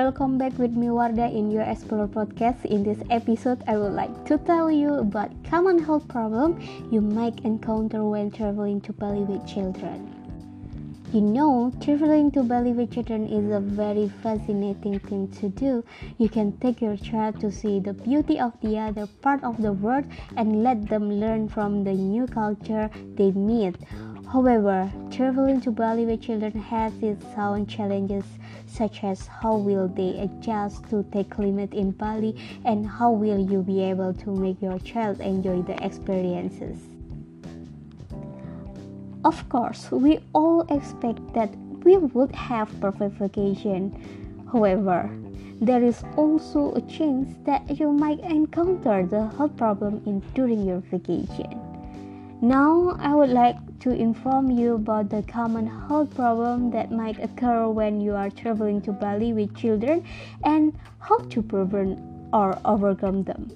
welcome back with me Wardah in your Explore podcast. In this episode, I would like to tell you about common health problem you might encounter when traveling to Bali with children. You know, traveling to Bali with children is a very fascinating thing to do. You can take your child to see the beauty of the other part of the world and let them learn from the new culture they meet. However, traveling to Bali with children has its own challenges, such as how will they adjust to the climate in Bali and how will you be able to make your child enjoy the experiences. Of course, we all expect that we would have perfect vacation. However, there is also a chance that you might encounter the health problem during your vacation. Now, I would like to inform you about the common health problem that might occur when you are traveling to Bali with children and how to prevent or overcome them.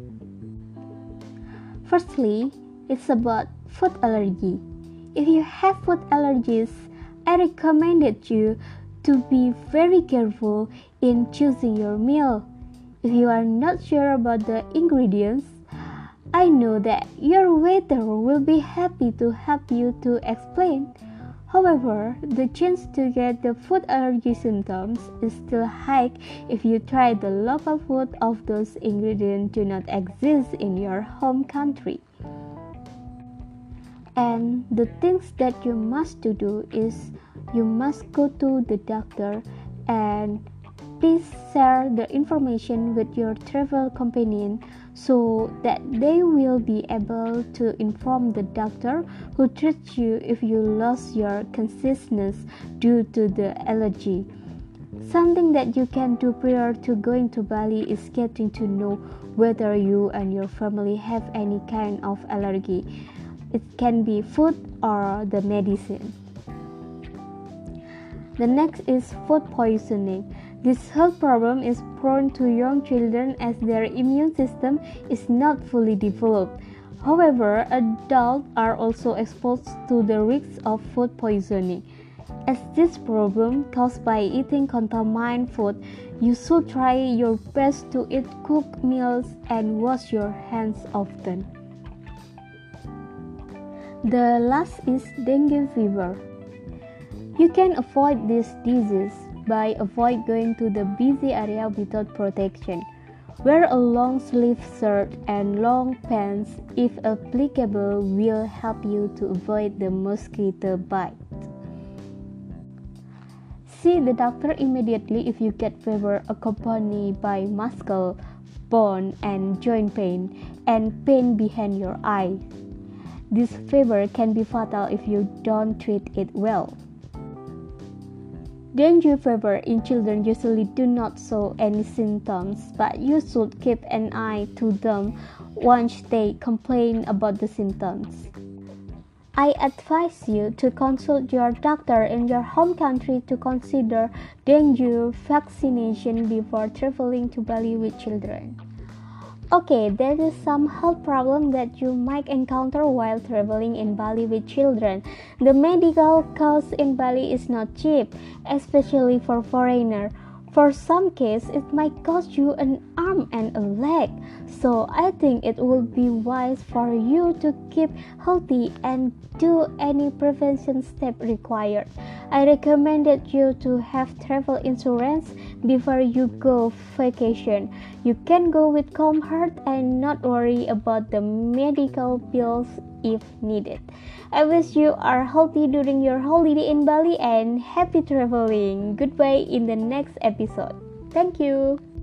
Firstly, it's about food allergy. If you have food allergies, I recommended you to be very careful in choosing your meal. If you are not sure about the ingredients, I know that your waiter will be happy to help you to explain. However, the chance to get the food allergy symptoms is still high if you try the local food of those ingredients do not exist in your home country. And the things that you must do is you must go to the doctor and please share the information with your travel companion so that they will be able to inform the doctor who treats you if you lost your consciousness due to the allergy. Something that you can do prior to going to Bali is getting to know whether you and your family have any kind of allergy. It can be food or the medicine. The next is food poisoning. This health problem is prone to young children as their immune system is not fully developed. However, adults are also exposed to the risks of food poisoning. As this problem caused by eating contaminated food, you should try your best to eat cooked meals and wash your hands often. The last is dengue fever. You can avoid this disease by avoid going to the busy area without protection. Wear a long sleeve shirt and long pants if applicable will help you to avoid the mosquito bite. See the doctor immediately if you get fever accompanied by muscle, bone and joint pain and pain behind your eye. This fever can be fatal if you don't treat it well. Dengue fever in children usually do not show any symptoms, but you should keep an eye to them once they complain about the symptoms. I advise you to consult your doctor in your home country to consider dengue vaccination before traveling to Bali with children. Okay, there is some health problem that you might encounter while traveling in Bali with children. The medical cost in Bali is not cheap, especially for foreigners. For some cases, it might cost you an arm and a leg. So I think it will be wise for you to keep healthy and do any prevention step required. I recommended you to have travel insurance before you go vacation. You can go with calm heart and not worry about the medical bills if needed. I wish you are healthy during your holiday in Bali and happy traveling. Goodbye in the next episode. Thank you.